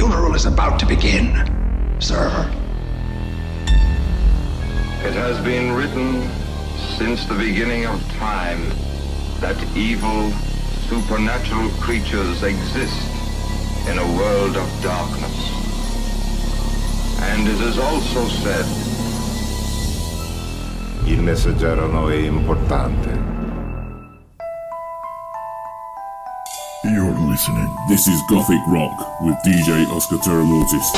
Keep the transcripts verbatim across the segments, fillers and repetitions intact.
funeral is about to begin, sir. It has been written since the beginning of time that evil, supernatural creatures exist in a world of darkness. And it is also said, Il messaggero è importante. You're listening. This is Gothic Rock with D J Oscar Terramotis.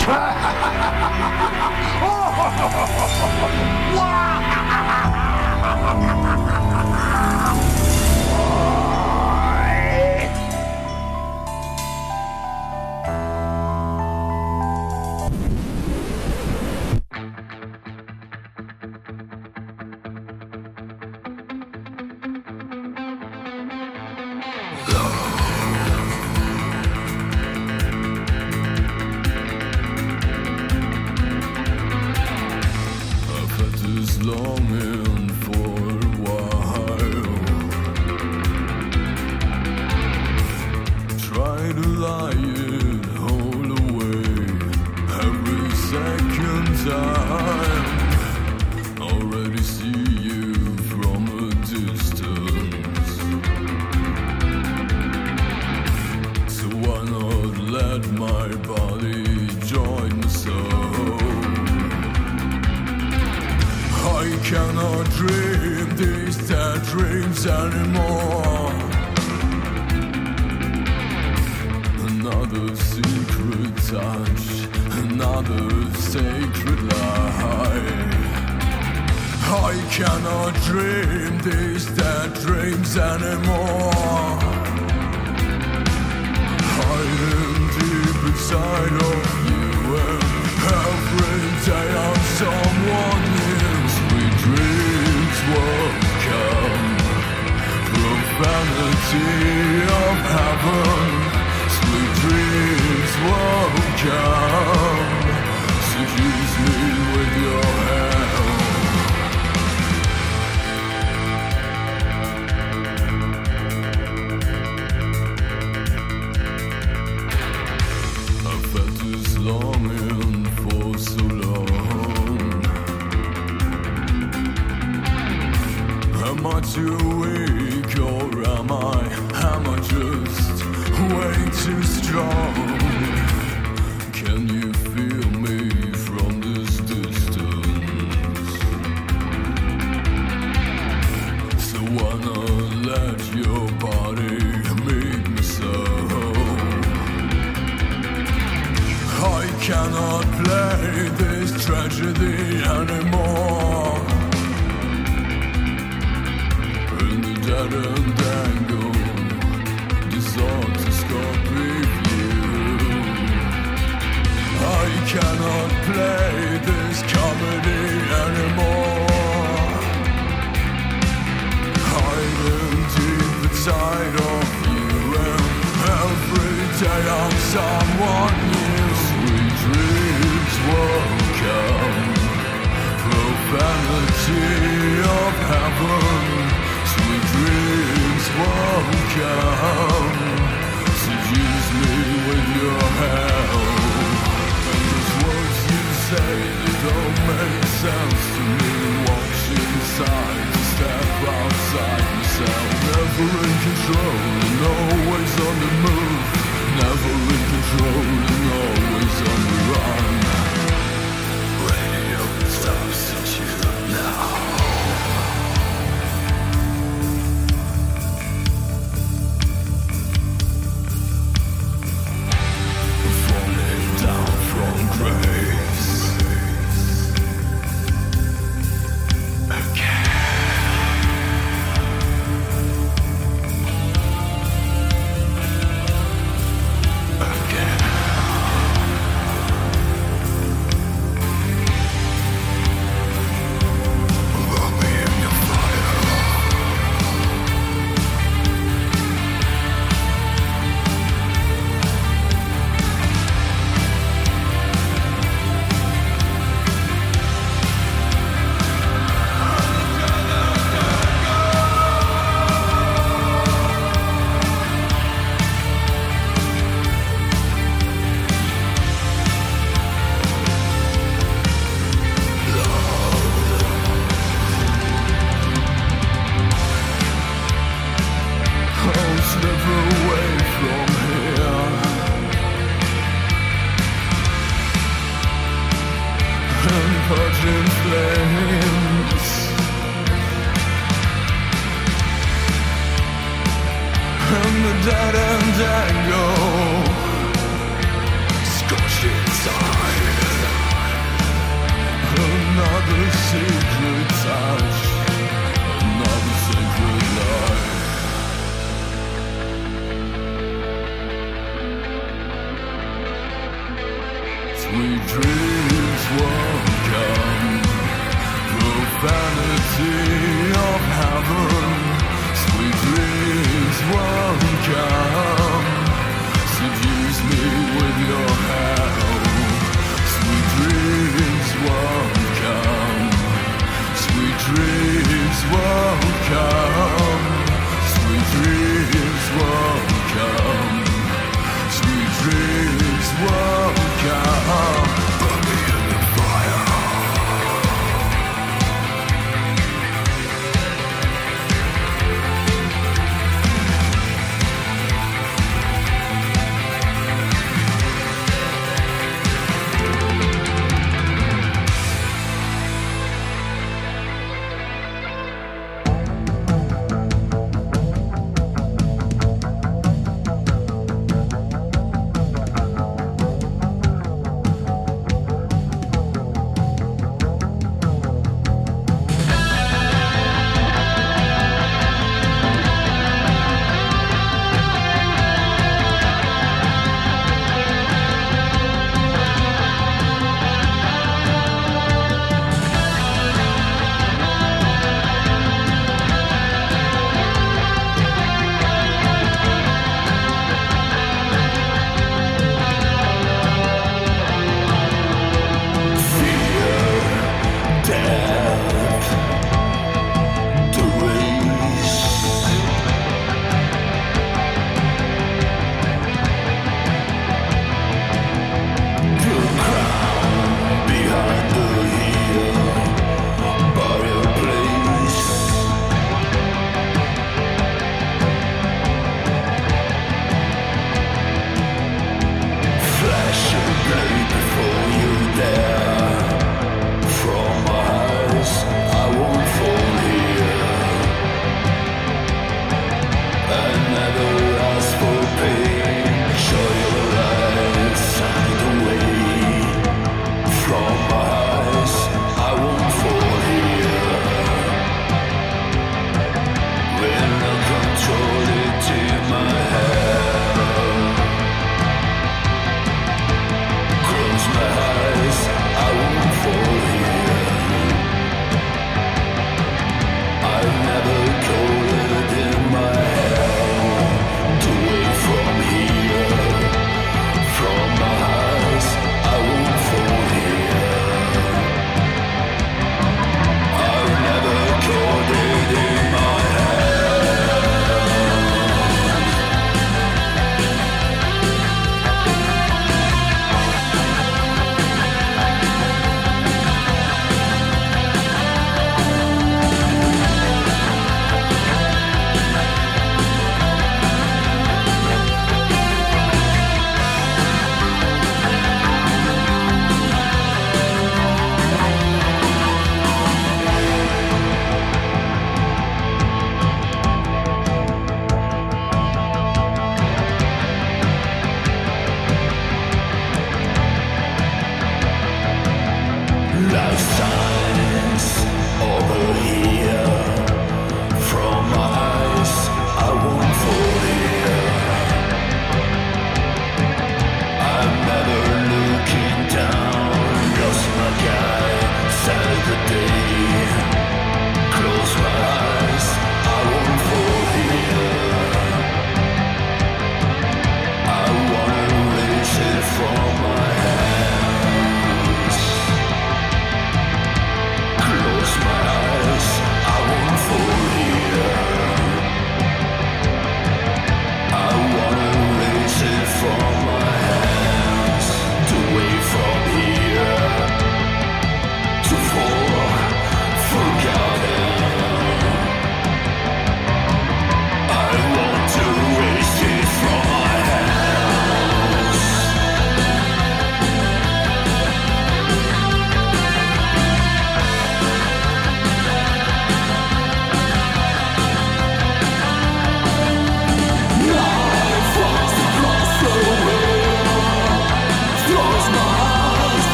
sweet dreams won't come. Profanity of heaven, sweet dreams won't come. Seduce me with your hell, sweet dreams won't come. Sweet dreams won't come. Sweet dreams won't come. Sweet dreams won't come. Burn me in the fire.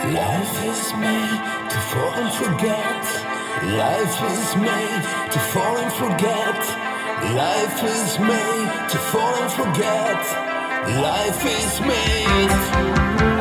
Life is made to fall and forget. Life is made to fall and forget. Life is made to fall and forget. Life is made.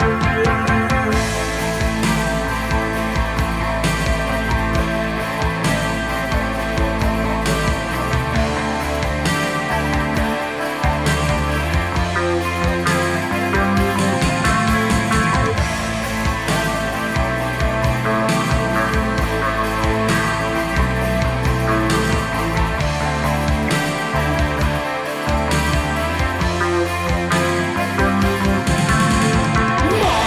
More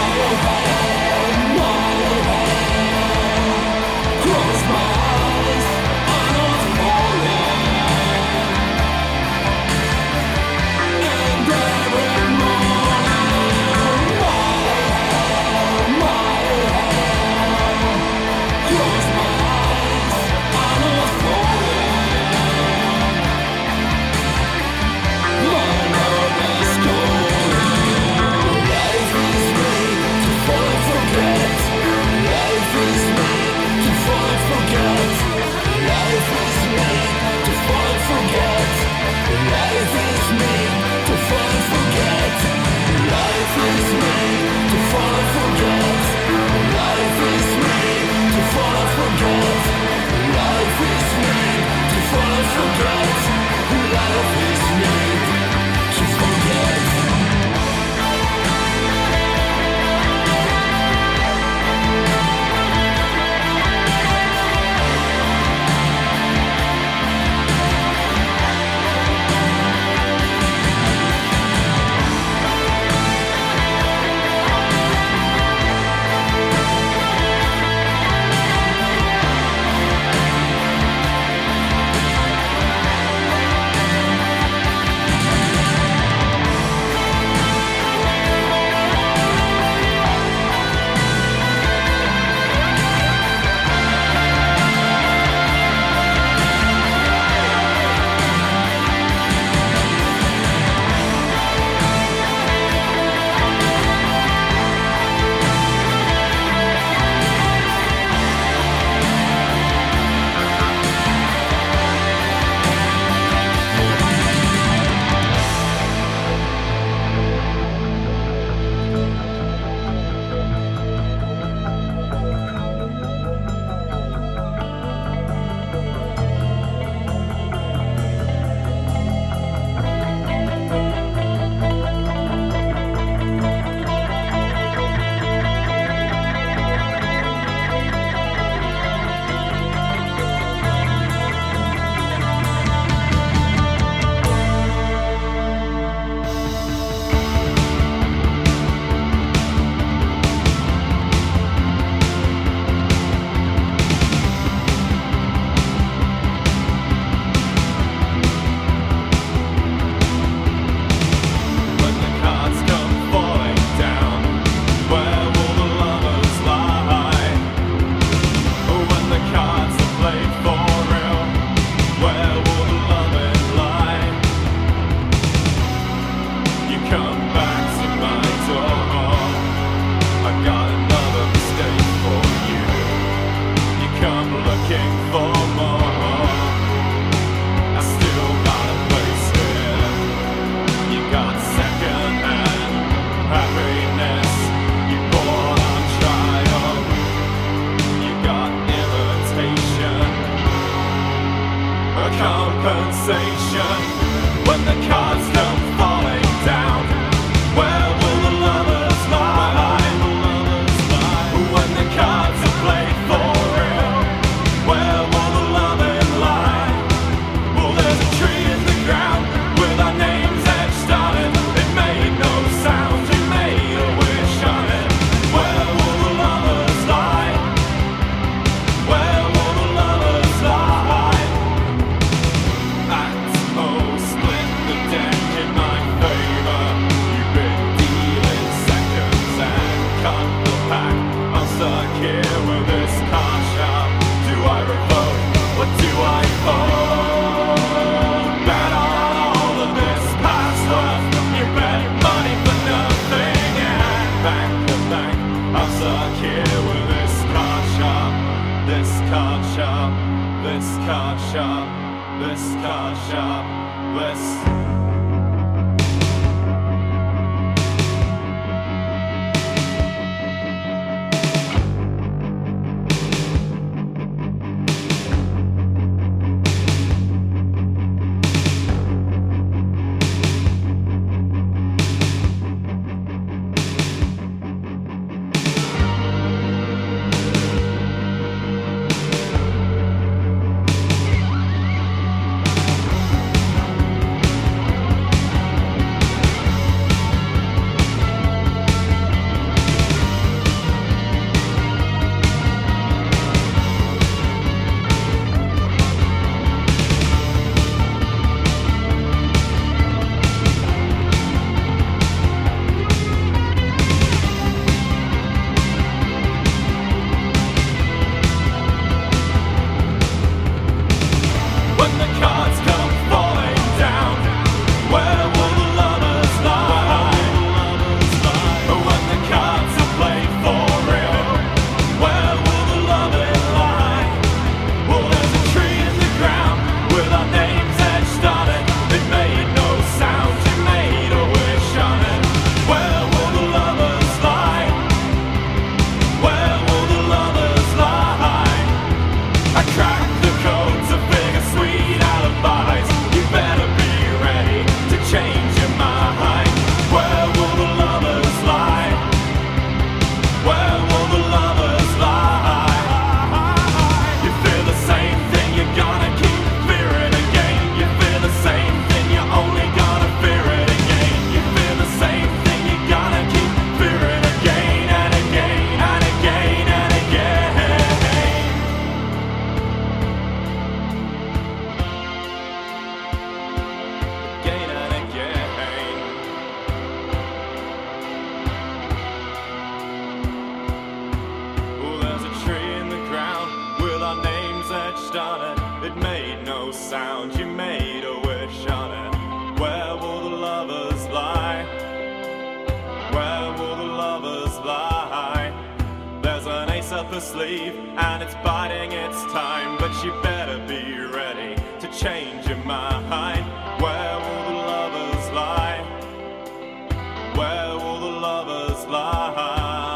sleeve and it's biding its time, but you better be ready to change your mind. Where will the lovers lie? Where will the lovers lie?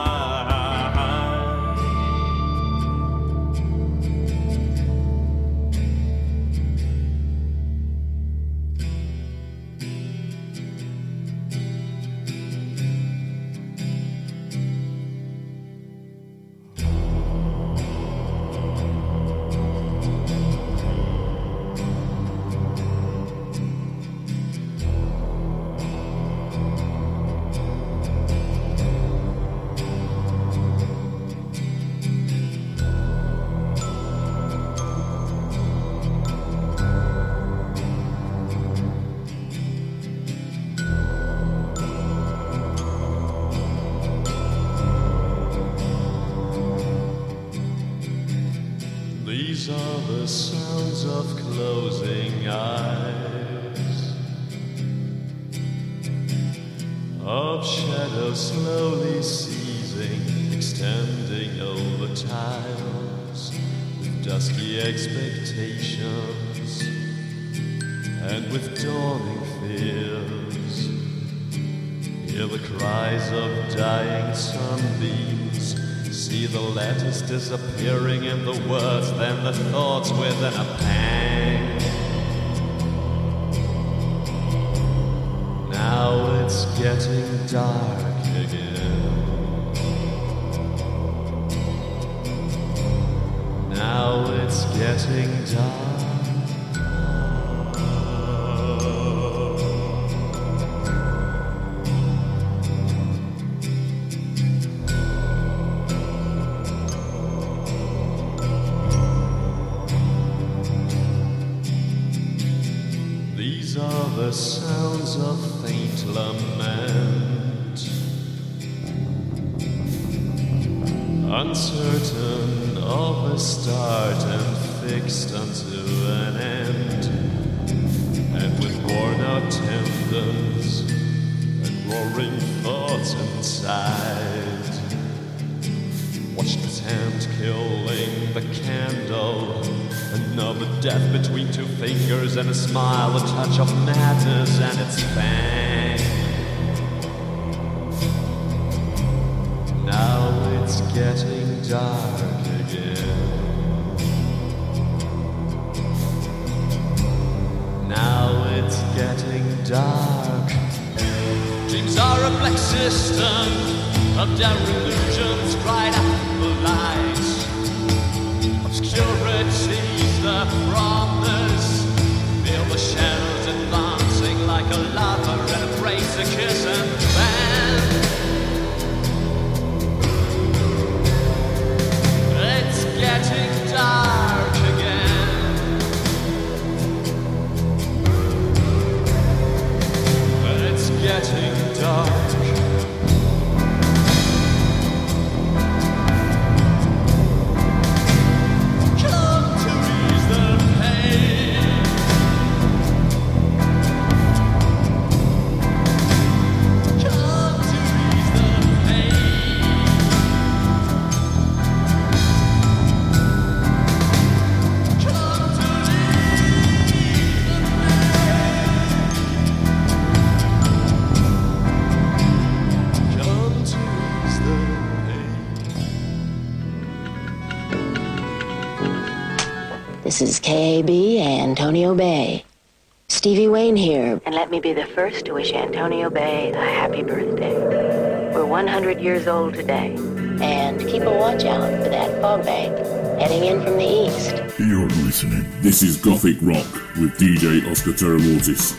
These are the sounds of closing eyes, of shadows slowly seizing, extending over tiles, with dusky expectations, and with dawning fears. Hear the cries of dying sunbeams, see the letters disappearing in the words, then the thoughts within a pang. Now it's getting dark again. Now it's getting dark. These are the sounds of faint lament, uncertain of a start and fixed unto an end, and with worn out tendons and roaring thoughts inside. Watch this hand killing the candle, another death between two fingers and a smile, a touch of madness and its fang. Now it's getting dark again. Now it's getting dark. Dreams are a black system of delusions right after the light. Obscurity's the promise. Feel the shadows advancing like a lover and embrace a kiss and fan. It's getting dark again. It's getting dark. This is K A B Antonio Bay. Stevie Wayne here, and let me be the first to wish Antonio Bay a happy birthday. We're one hundred years old today, and keep a watch out for that fog bank heading in from the east. You're listening. This is Gothic Rock with D J Oscar Terramortis.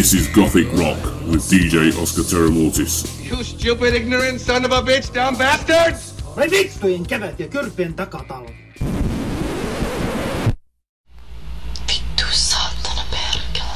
This is Gothic Rock with D J Oscar Terramortis. You stupid, ignorant son of a bitch, dumb bastards! Vai vittujen kevät ja kyrpien takatalot. Vittu saatana perkele.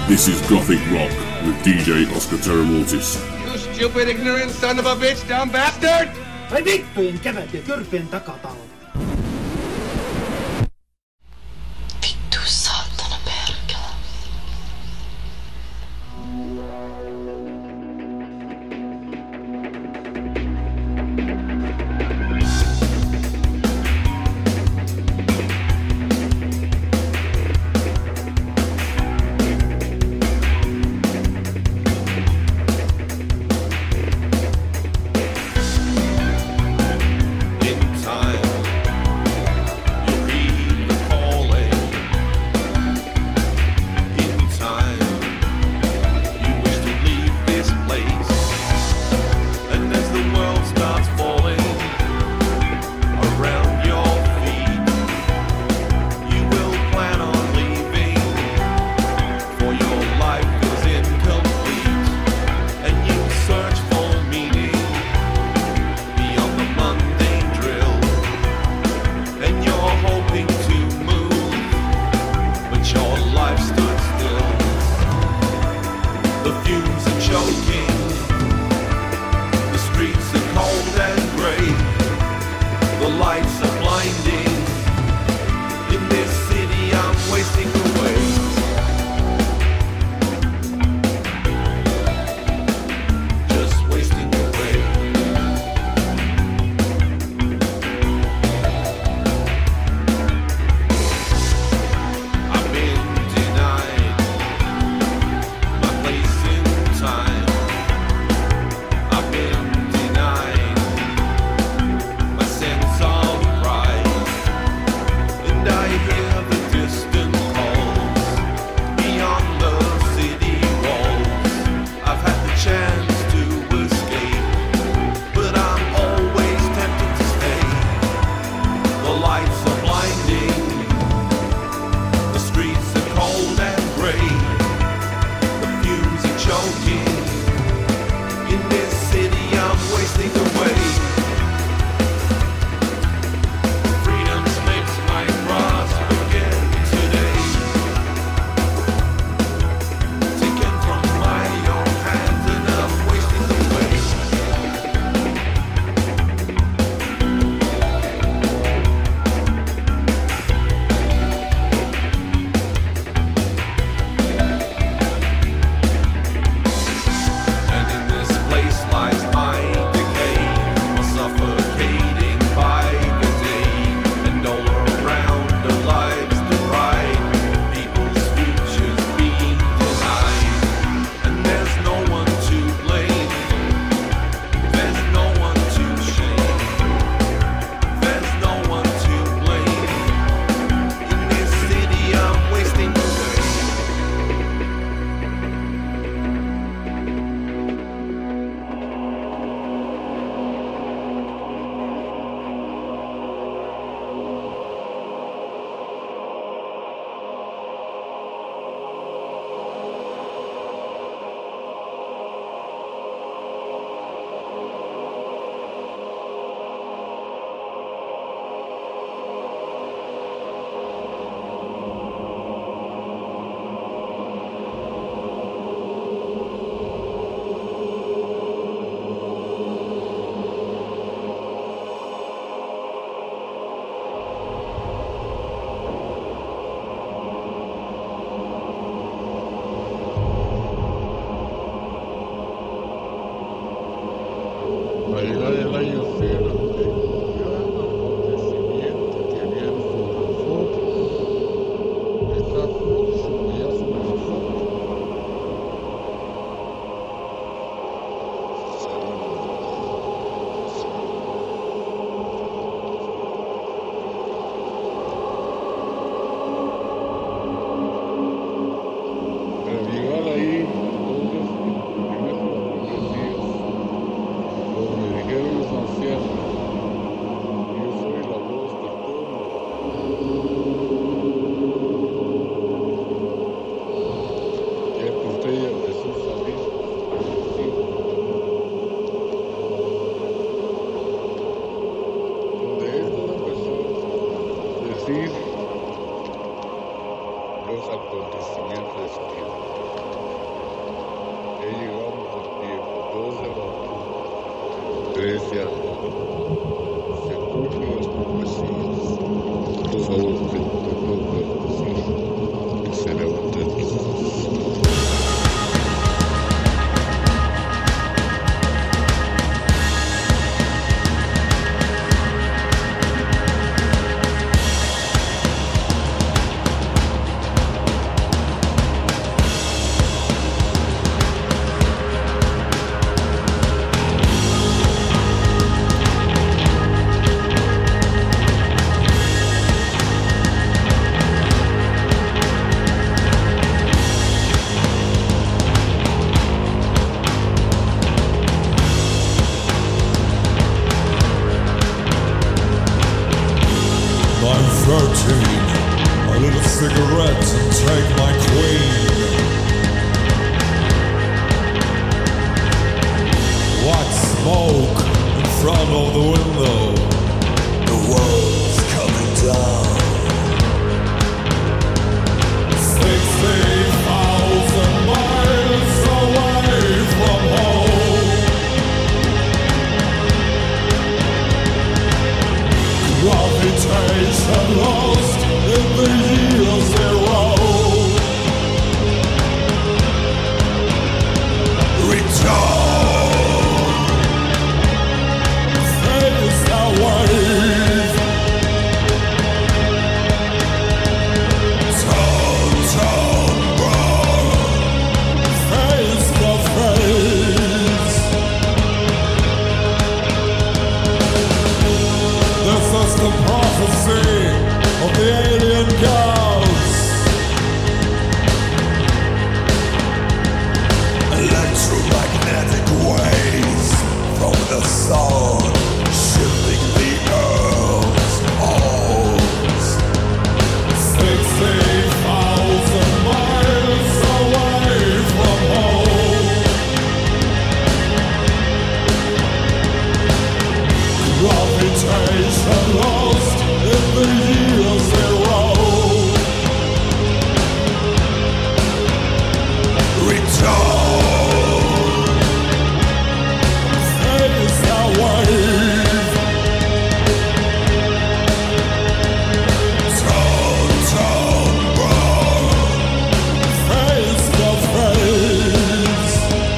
This is Gothic Rock with D J Oscar Terramortis. You stupid, ignorant son of a bitch, dumb bastard! Ai vittujen kevät ja kyrpien takatalo. Vittu saatana perkele. Donde dijeron los ancianos iglesia se escuchen nuestros vecinos. Por favor, que se levanten. A little cigarette and take my queen. White smoke in front of the window. The world's coming down. Sixty thousand miles away from home. Gravitation lost in the year zero. Return. Face the wave. Turn, turn, burn. Face the face. This is the prophecy of the alien girls. Electromagnetic waves from the sun, shifting the earth's poles. Sixty thousand miles away from home. Gravitation lost in the year zero. Return. Face the wave. Turn, turn, burn. Face the face.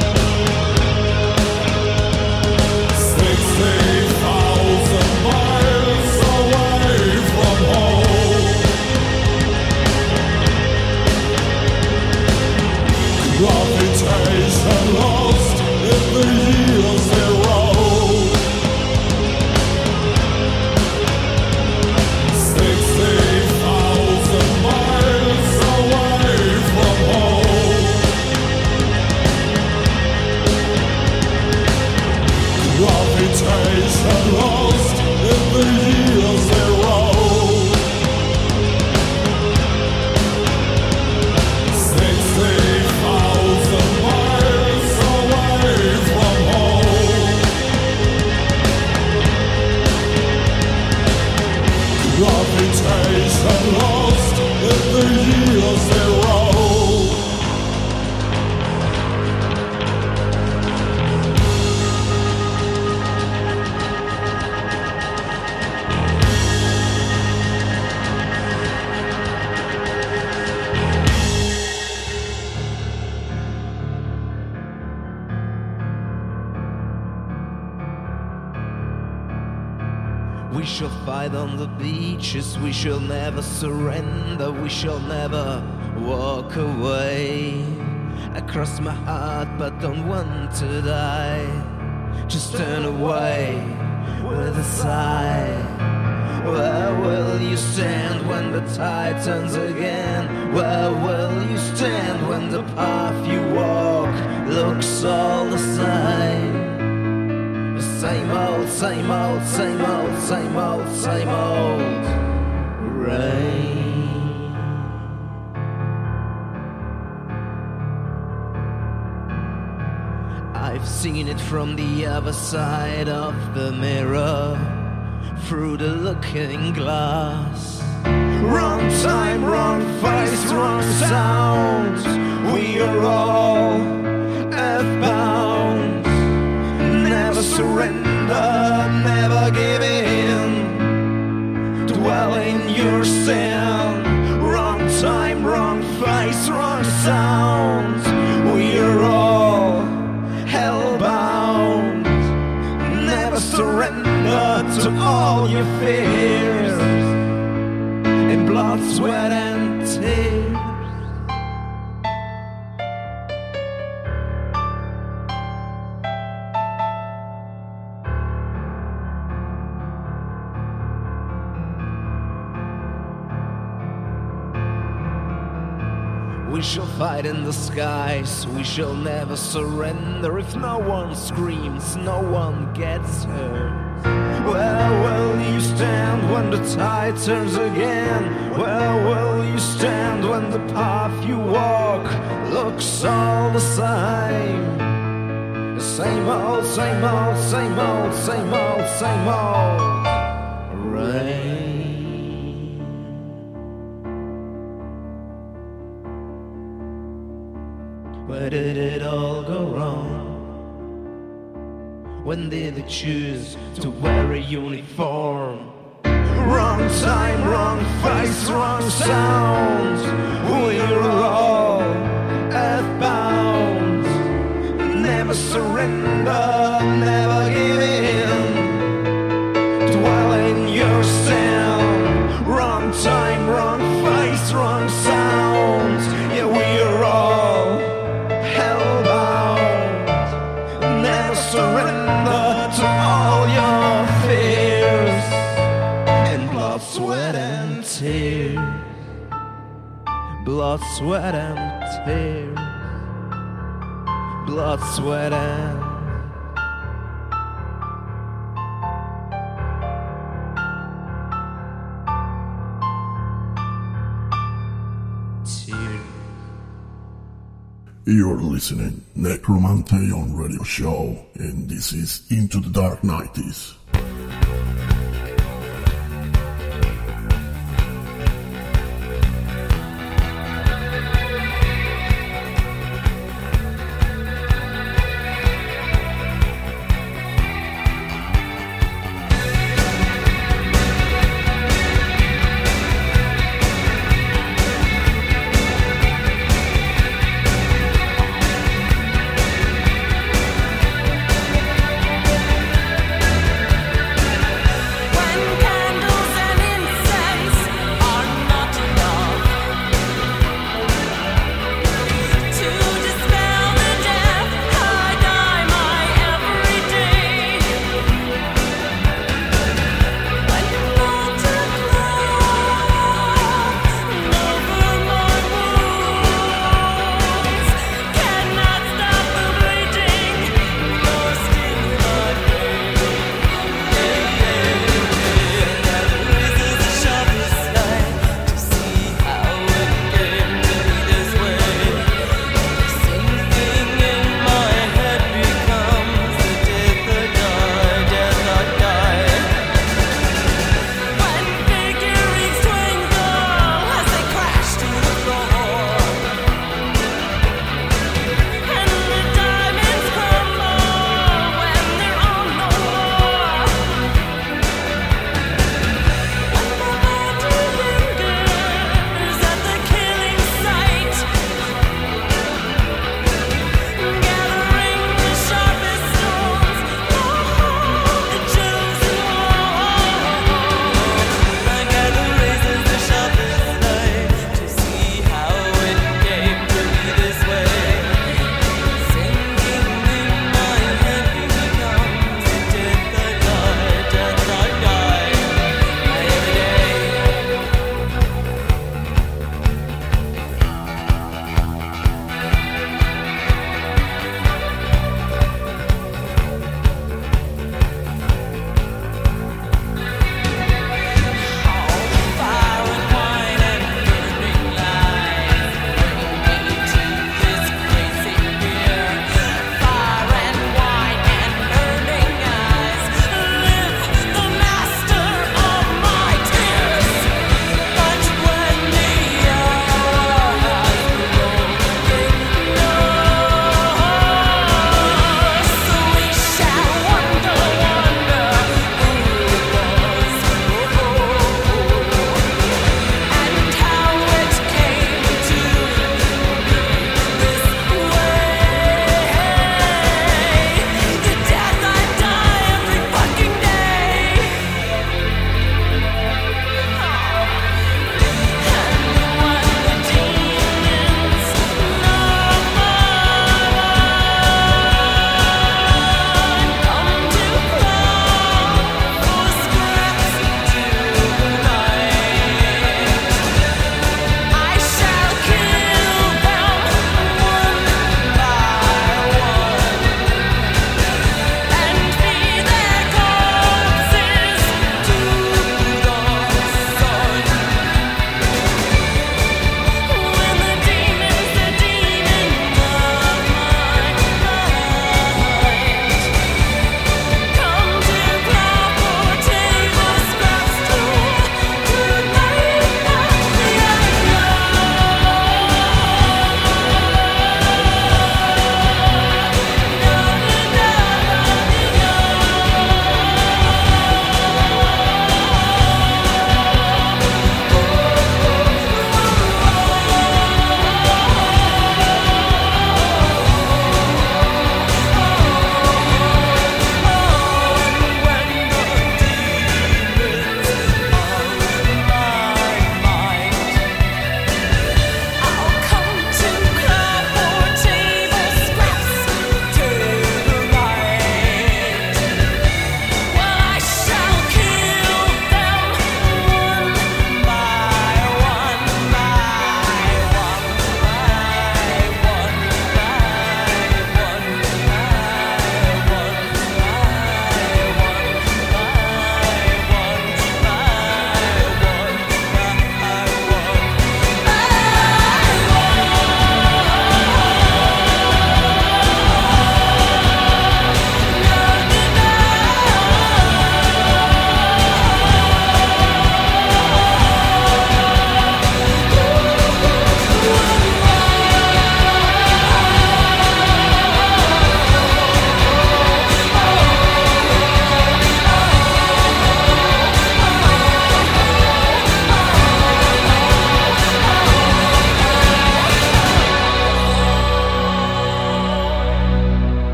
Sixty thousand miles away from home. Gravitation lost in the year zero. Sixty thousand miles away from home. Gravitation lost in the year zero. Sixty thousand miles away from home. Gravitation lost in the year zero. We shall fight on the beaches, we shall never surrender, we shall never walk away. I cross my heart but don't want to die. Just turn away with a sigh. Where will you stand when the tide turns again? Where will you stand when the path you walk looks all the same? Same old, same old, same old, same old, same old rain. I've seen it from the other side of the mirror, through the looking glass. Wrong time, wrong face, wrong sound. We are all earthbound. Never surrender. surrender, never give in. Dwell in your sin. Wrong time, wrong face, wrong sound. We're all hellbound. Never surrender to all your fears. In blood, sweat, and tears. We shall fight in the skies, we shall never surrender. If no one screams, no one gets hurt. Where will you stand when the tide turns again? Where will you stand when the path you walk looks all the same? The same old, same old, same old, same old, same old rain. Where did it all go wrong? When did they choose to wear a uniform? Wrong time, wrong face, wrong sound. We're all earthbound. Never surrender, never give in. Dwell in your sin. Wrong time, wrong face, wrong sound. Yeah, we're all hellbound. Never surrender to all your fears. In blood, sweat, and tears. Blood, sweat, and tears. Blood, sweat, and You're listening Necromanteon Radio Show, and this is Into the Dark nineties. We'll be right back.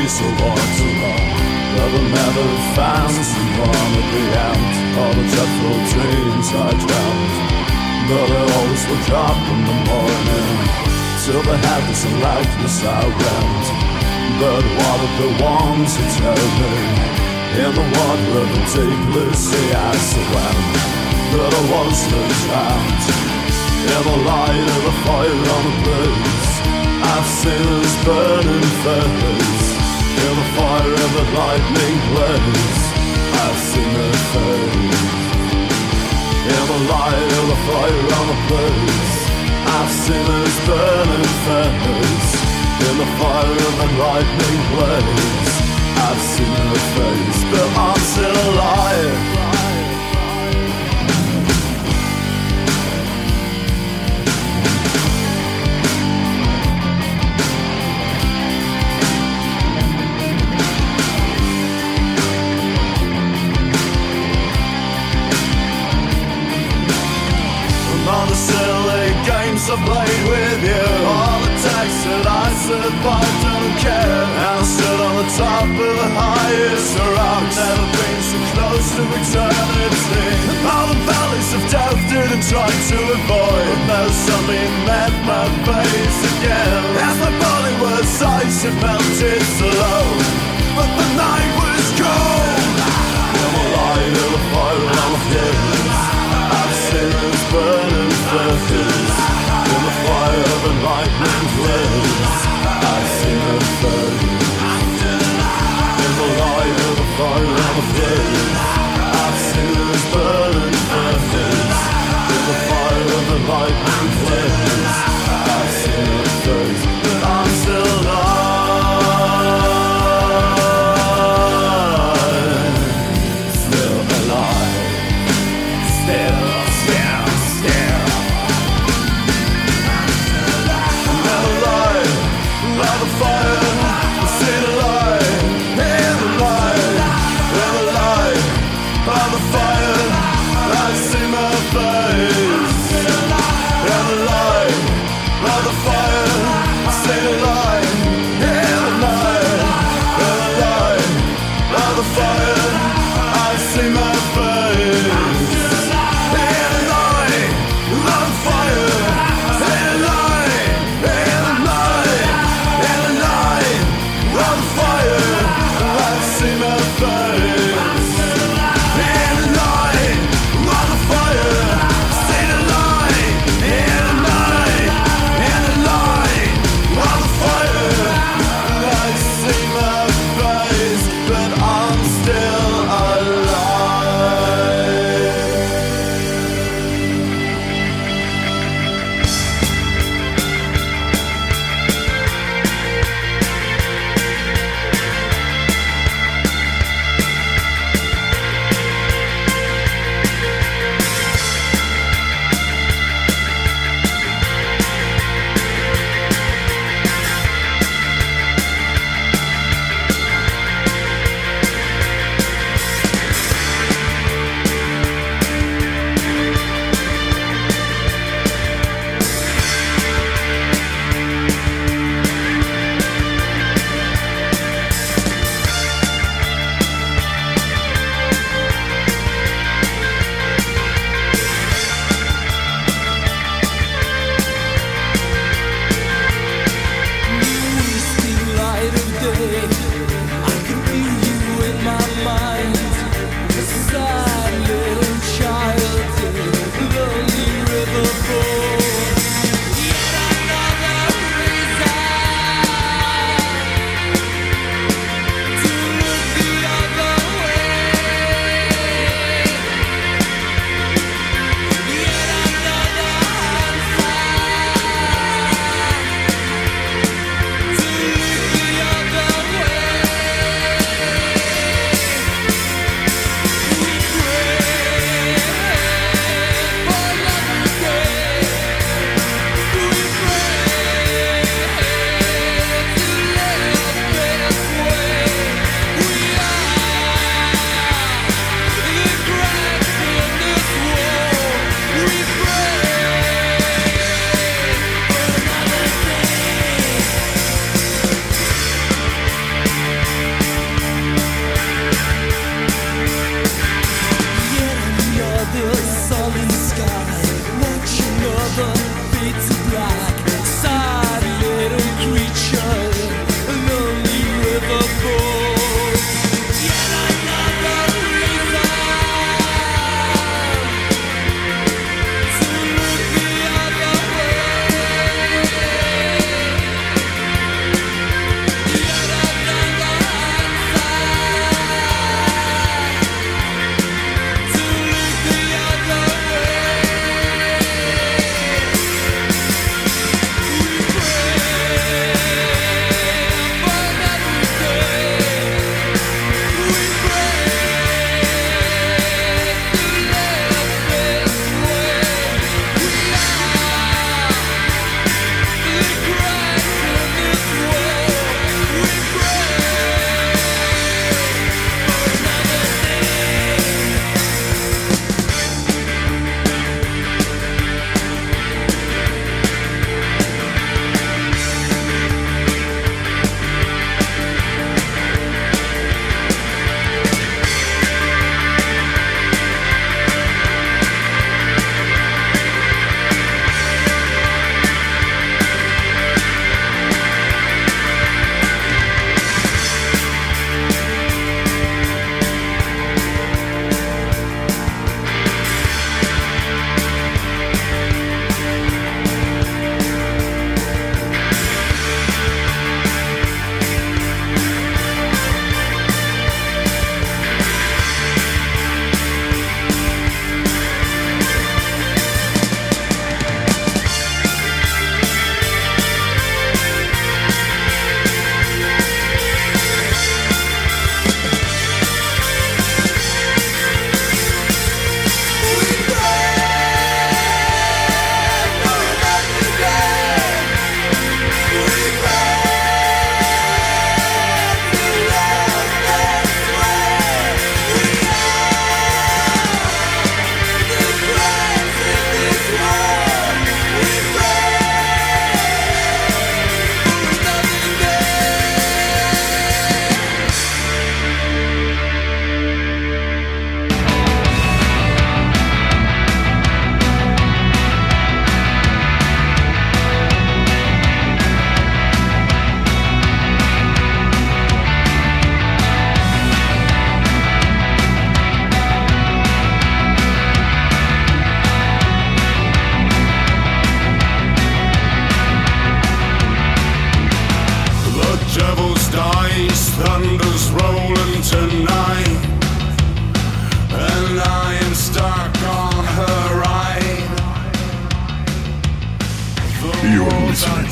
memories of what to love. But I never found someone at the end. All the dreadful dreams I dreamt. But I always woke up in the morning. Till the heavens and lifeless I went. But what of the ones who tell me? In the water of the deep blue sea I swam. But I wasn't drowned. In the light of the fire on the blaze, I've seen this burning face. In the fire of the lightning blaze, I've seen her face. In the light of the fire on the blaze, I've seen this burning face. In the fire of the lightning blaze, I've seen her face. But I'm still alive. All the silly games I played with you, all the texts that I survived, don't care. And I stood on the top of the highest rock, never been so close to eternity. All the valleys of death didn't try to avoid, but now something met my face again. As my body was ice, it melted slow, but the night was cold. In the light of the fire on the hills, I've seen this burning faces. In the fire of the lightning blaze, I've seen her face. In the light of the fire on the blaze, I've seen this burning faces. In the fire of the lightning blaze, I've seen her face. But I'm still alive.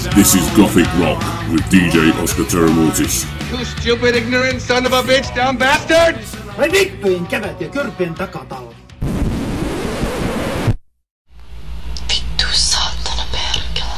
This is Gothic Rock with D J Oscar Terramortis. You stupid, ignorant son of a bitch, dumb bastard! Vai vittuin kävet ja kyrpien takatalo. Vittu saatana perkele.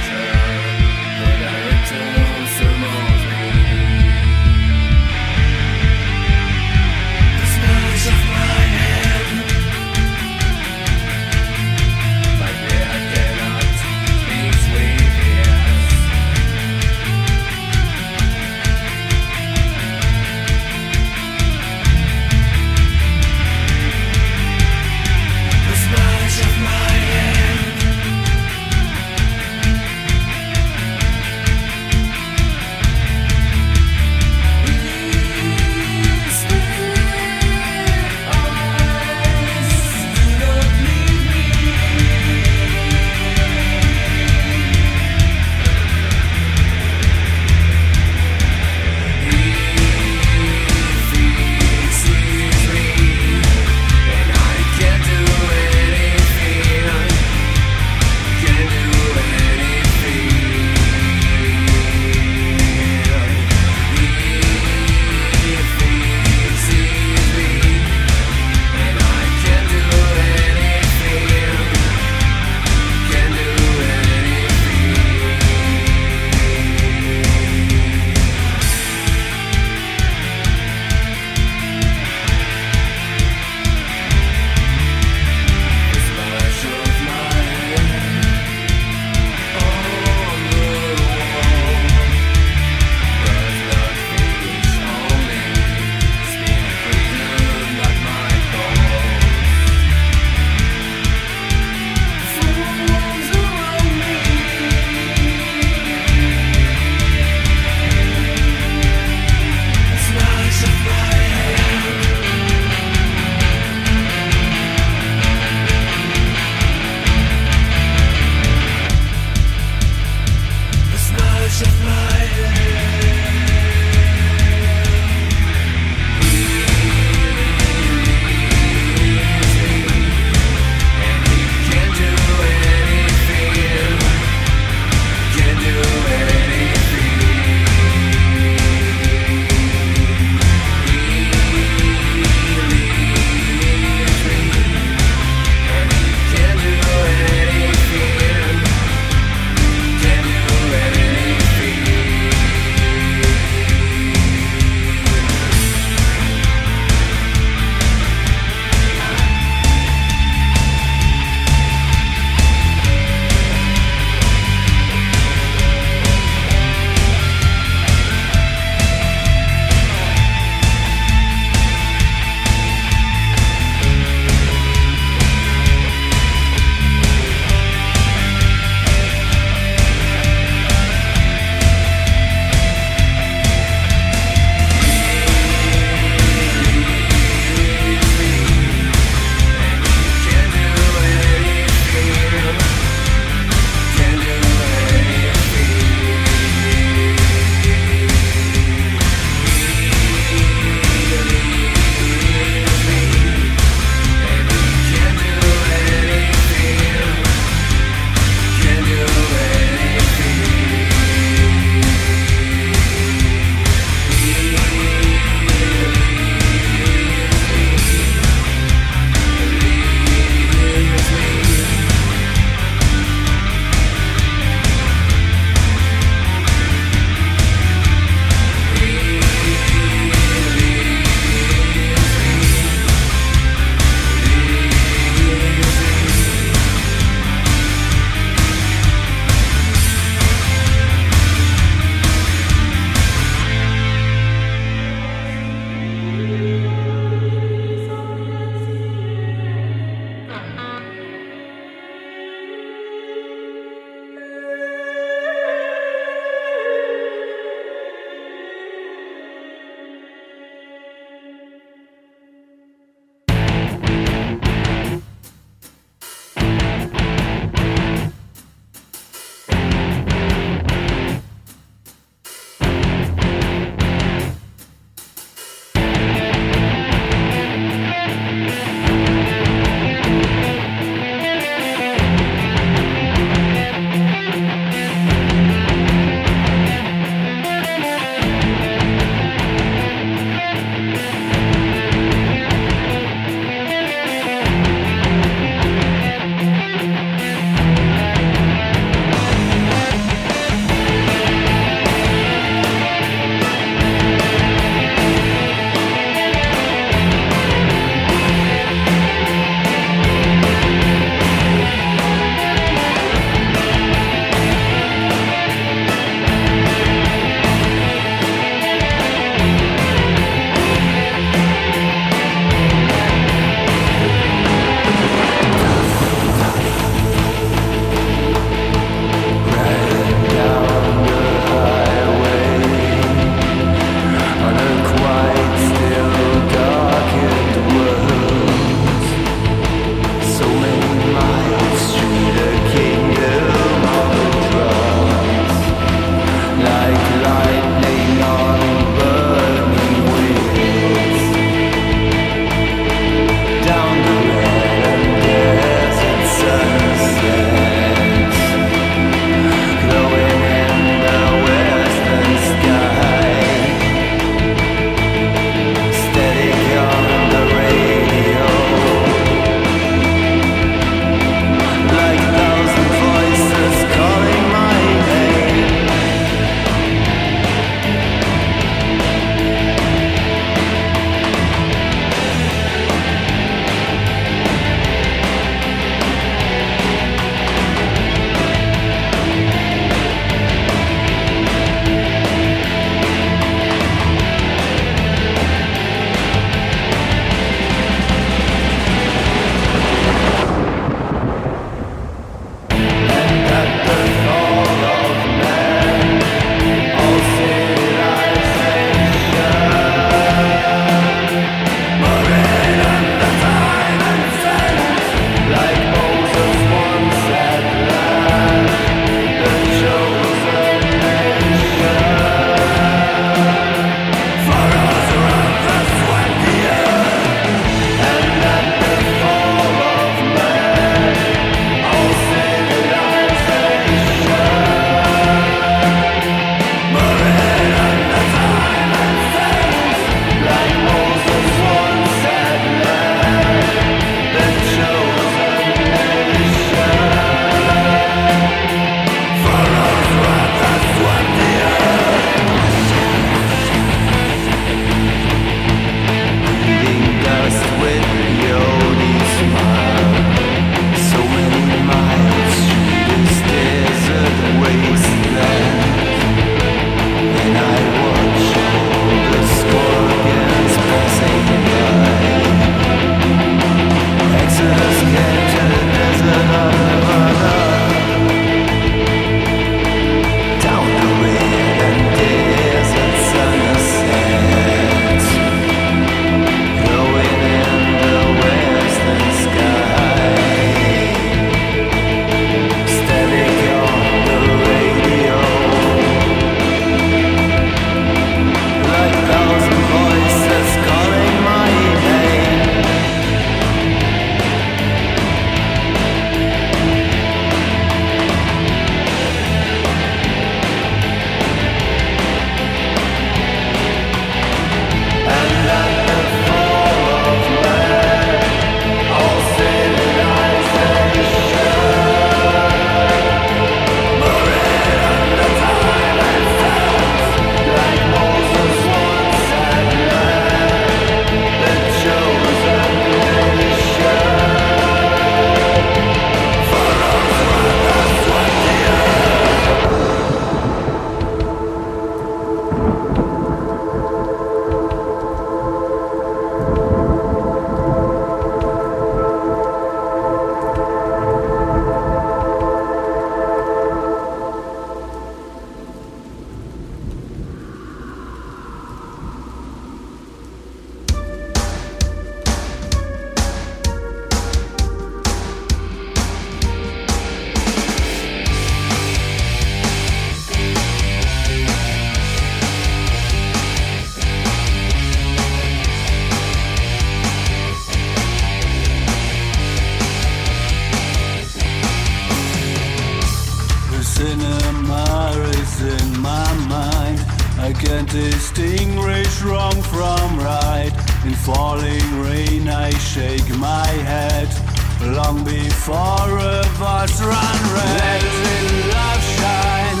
cinema is in my mind. I can't distinguish wrong from right. In falling rain I shake my head. Long before a bus run red. Let love shine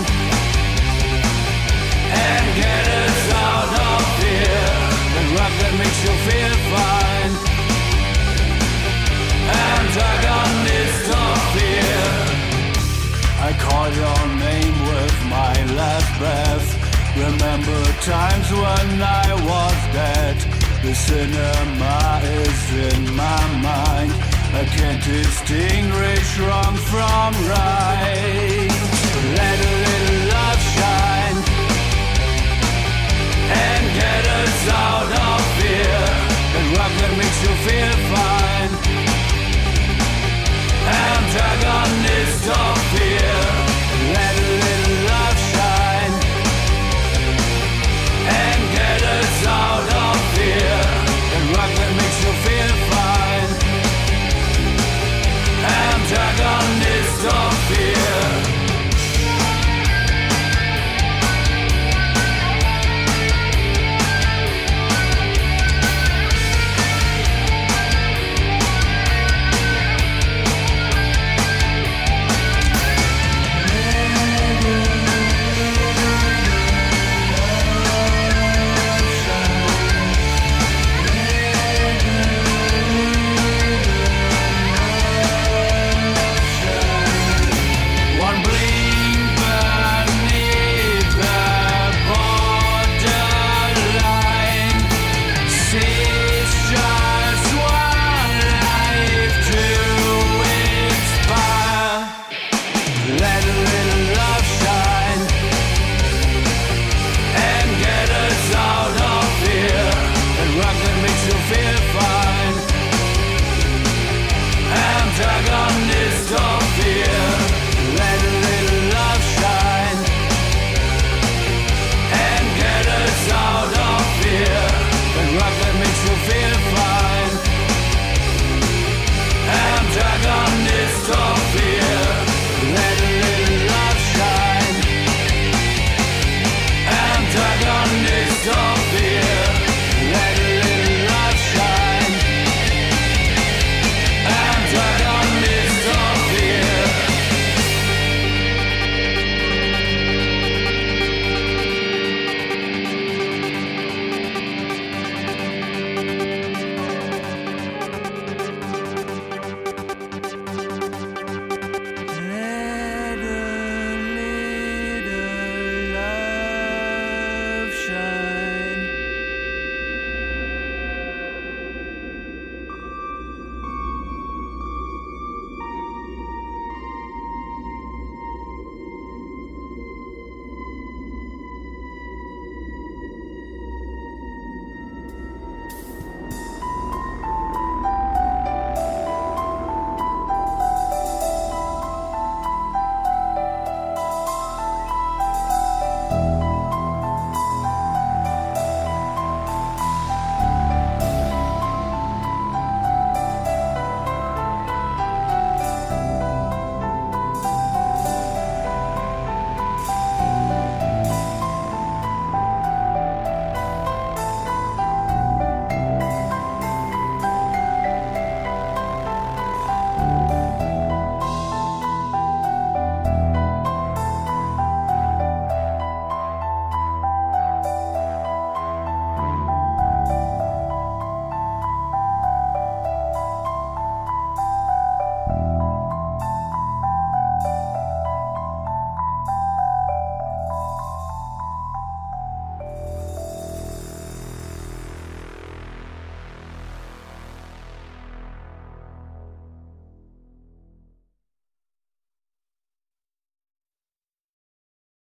and get us out of here. The rock that makes you feel fine. Antagonist of fear. I call your name with my last breath. Remember times when I was dead. The cinema is in my mind. I can't distinguish wrong from right.